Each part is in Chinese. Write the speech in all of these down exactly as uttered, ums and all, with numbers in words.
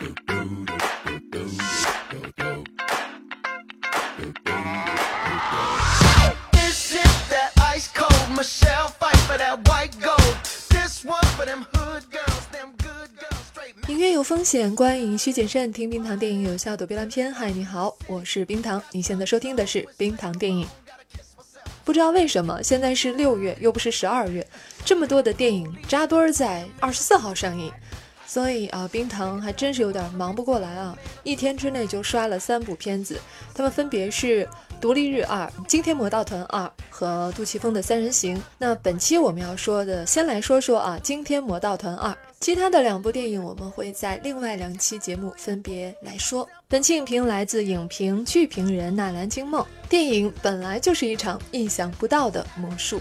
音乐有风险，观影需谨慎，听冰糖电影有效躲避烂片。嗨，你好，我是冰糖，你现在收听的是冰糖电影。不知道为什么现在是六月又不是十二月，这么多的电影扎堆儿在二十四号上映，所以啊，冰糖还真是有点忙不过来啊！一天之内就刷了三部片子，他们分别是《独立日二》、《惊天魔盗团二》和杜琪峰的《三人行》。那本期我们要说的，先来说说啊，《惊天魔盗团二》。其他的两部电影我们会在另外两期节目分别来说。本期影评来自影评剧评人纳兰金梦。电影本来就是一场意想不到的魔术。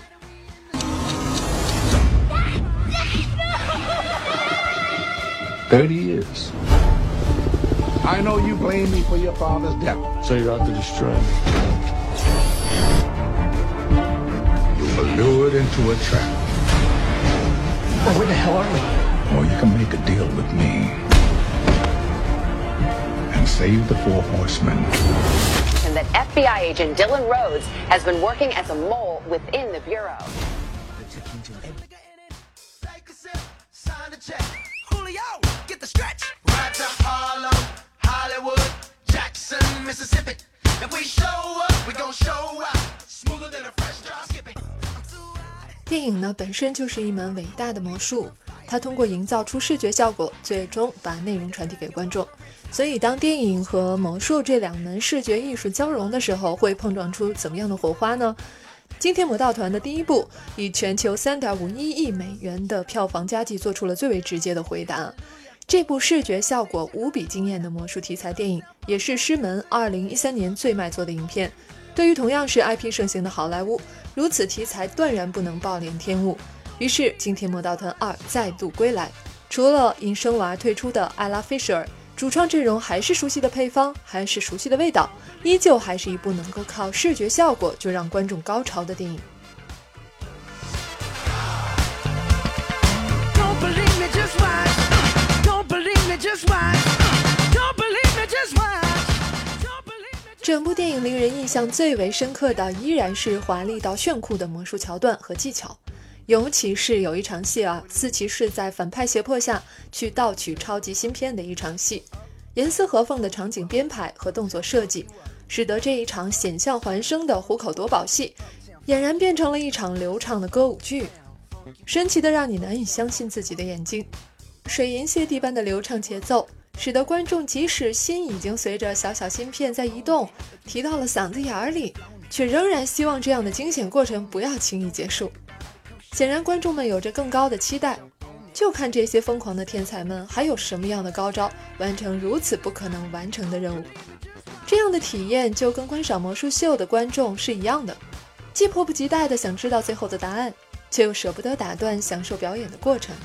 Thirty years. I know you blame me for your father's death. So you're out to destroy me. You were lured into a trap. Well, where the hell are we? Or you can make a deal with me and save the four horsemen. And that F B I agent Dylan Rhodes has been working as a mole within the bureau. Get the stretch right to Harlem, Hollywood, Jackson, Mississippi. If we show up, we gon' show up smoother than a fresh drop skipping. 电影呢本身就是一门伟大的魔术，它通过营造出视觉效果，最终把内容传递给观众。所以当电影和魔术这两门视觉艺术交融的时候，会碰撞出怎么样的火花呢？惊天魔盗团的第一部以全球 三点五一亿美元的票房佳绩做出了最为直接的回答。这部视觉效果无比惊艳的魔术题材电影，也是狮门二零一三年最卖座的影片。对于同样是 I P 盛行的好莱坞，如此题材断然不能暴殄天物。于是惊天魔盗团二再度归来，除了因生娃退出的艾拉菲舍尔，主创阵容还是熟悉的配方，还是熟悉的味道，依旧还是一部能够靠视觉效果就让观众高潮的电影。整部电影令人印象最为深刻的依然是华丽到炫酷的魔术桥段和技巧，尤其是有一场戏啊，四骑士在反派胁迫下去盗取超级芯片的一场戏，严丝合缝的场景编排和动作设计，使得这一场险象环生的虎口夺宝戏俨然变成了一场流畅的歌舞剧，神奇的让你难以相信自己的眼睛。水银泻地般的流畅节奏，使得观众即使心已经随着小小芯片在移动提到了嗓子眼里，却仍然希望这样的惊险过程不要轻易结束。显然观众们有着更高的期待，就看这些疯狂的天才们还有什么样的高招完成如此不可能完成的任务。这样的体验就跟观赏魔术秀的观众是一样的，既迫不及待地想知道最后的答案，却又舍不得打断享受表演的过程。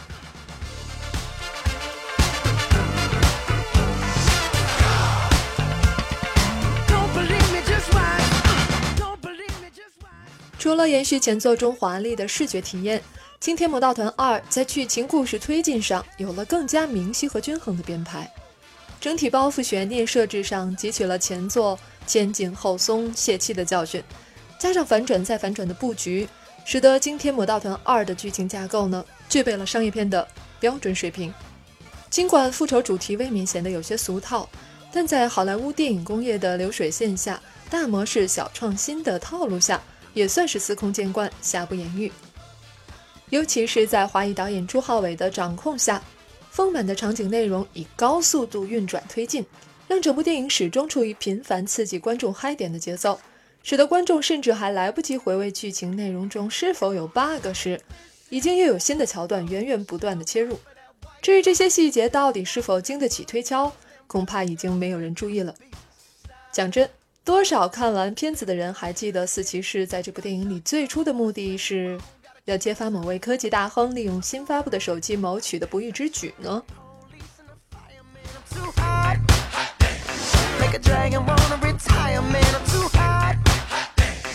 除了延续前作中华丽的视觉体验，惊天魔盗团二在剧情故事推进上有了更加明晰和均衡的编排，整体包袱悬念设置上汲取了前作前紧后松泄气的教训，加上反转再反转的布局，使得惊天魔盗团二的剧情架构呢具备了商业片的标准水平。尽管复仇主题未免显得有些俗套，但在好莱坞电影工业的流水线下，大模式小创新的套路下，也算是司空见惯，瑕不掩瑜。尤其是在华裔导演朱浩伟的掌控下，丰满的场景内容以高速度运转推进，让整部电影始终处于频繁刺激观众嗨点的节奏，使得观众甚至还来不及回味剧情内容中是否有 bug 时，已经又有新的桥段源源不断的切入。至于这些细节到底是否经得起推敲，恐怕已经没有人注意了。讲真，多少看完片子的人还记得四骑士在这部电影里最初的目的是要揭发某位科技大亨利用新发布的手机谋取的不义之举呢？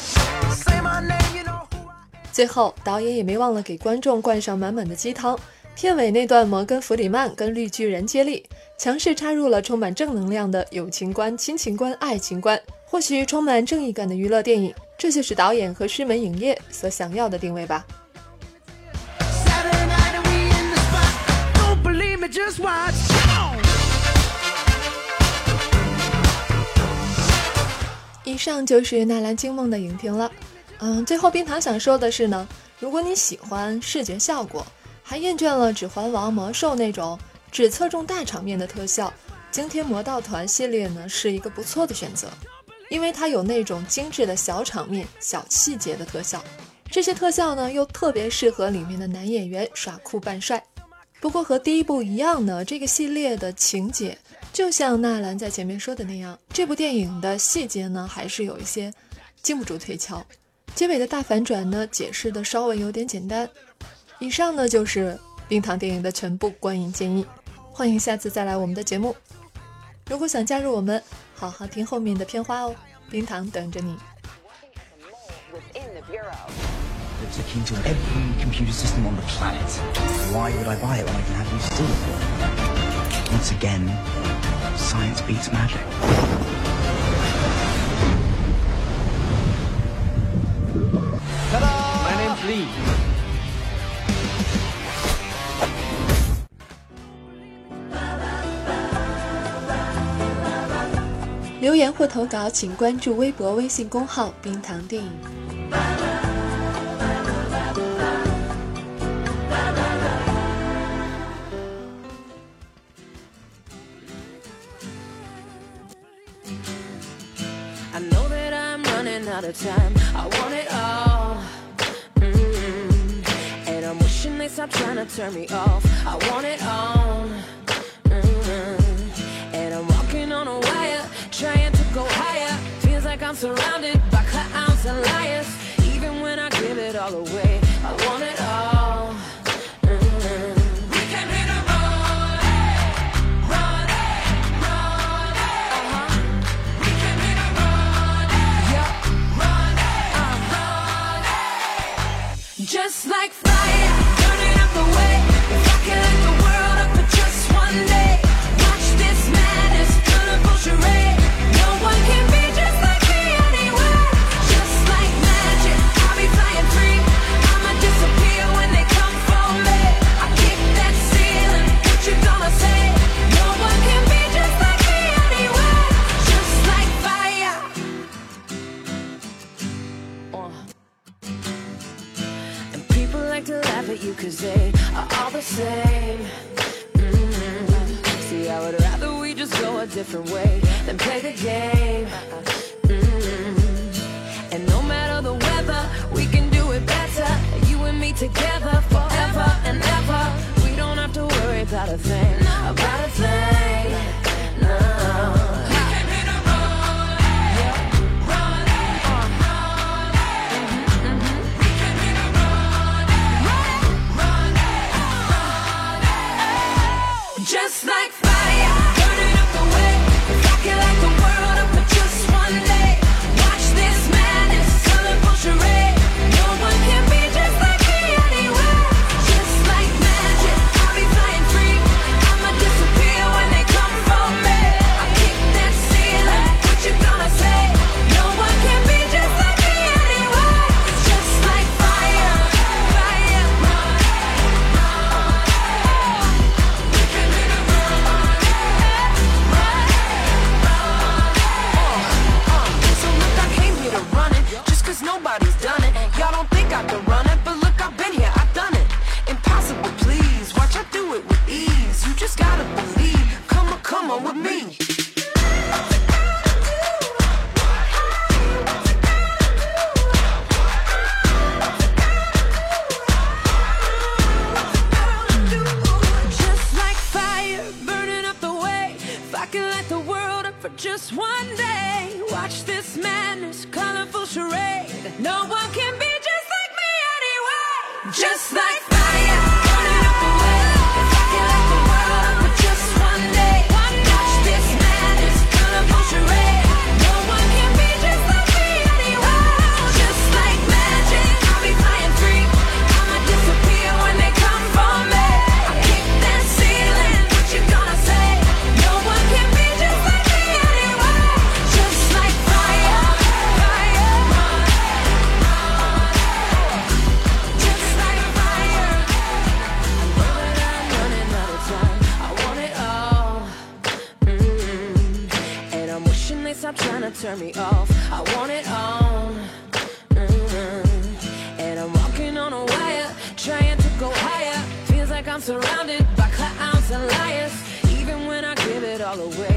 最后导演也没忘了给观众灌上满满的鸡汤， 片尾那段摩根·弗里曼跟绿巨人接力，强势插入了充满正能量的友情观、亲情观、爱情观，或许充满正义感的娱乐电影，这就是导演和狮门影业所想要的定位吧。以上就是纳兰惊梦的影评了。嗯，最后冰糖想说的是呢，如果你喜欢视觉效果，还厌倦了指环王、魔兽那种只侧重大场面的特效，惊天魔盗团系列呢是一个不错的选择，因为它有那种精致的小场面、小细节的特效，这些特效呢又特别适合里面的男演员耍酷扮帅。不过和第一部一样呢，这个系列的情节就像纳兰在前面说的那样，这部电影的细节呢还是有一些经不住推敲，结尾的大反转呢解释的稍微有点简单。以上呢就是冰糖电影的全部观影建议，欢迎下次再来我们的节目。如果想加入我们，好好听后面的片花哦，冰糖等着你。 It's akin to every computer system on the planet. Why would I buy it when I can have you steal it? Once again, science beats magic. Ta-da! My name's Lee. 留言或投稿请关注微博微信公号冰糖电影。 I know that I'm running out of time. I want it all. Mm-hmm. And I'm wishing they stop trying to turn me off. I want it all. Mm-hmm. And I'm walking on a wire, trying to go higher. Feels like I'm surrounded by clowns and liars. Even when I give it all away, I want it all. Mm-hmm. We came here to run, run, run. Uh-huh. We came here to run, yeah, run, uh-huh. Just like fire, burning up the way. If I could light the world up for just one day, watch this madness, colorful charade. No one can be just like me anywhere. Just like magic, I'll be flying free. I'ma disappear when they come for me. I kick that ceiling, what you gonna say? No one can be just like me anywhere. Just like fire. Uh. And people like to laugh at you cause they are all the same. Mm-hmm. See, I would rather we just go a different way than play the game. Mm-hmm. And no matter the weather, we can do it better. You and me together forever and ever. We don't have to worry about a thing, about a thing. No. We came here to run, yeah, run, uh, mm-hmm, mm-hmm. We came here to run, run, run, run. Just like fire, burning up the way. If I could light the world up for just one day, watch this madness, colorful charade. No one can be just like me anywhere. Just like magic, I'll be flying free. I'ma disappear when they come for me. I kick that ceiling, what you gonna say? No one can be just like me anywhere. Just like fire, fire, run, run. We came here to run, run, run. So look, I came here to run it, just cause nobody's done it. Y'all don't think I can run it, but look, I've been here, I've done it. Impossible, please, watch I do it with ease. You just gotta believe, come on, come on with me. Just like fire, burning up the way. If I could light the world up for just one day, watch this madness, colorful charade. No one can be just like me anyway. Just like fire, burning up the way. If I could light the world up for just one day, watch this madness, colorful charade. No one can be just like me anyway. Just like magic, I'll be flying free. I'ma disappear when they come for me. I stop trying to turn me off. I want it all. Mm-hmm. And I'm walking on a wire, trying to go higher. Feels like I'm surrounded by clowns and liars. Even when I give it all away,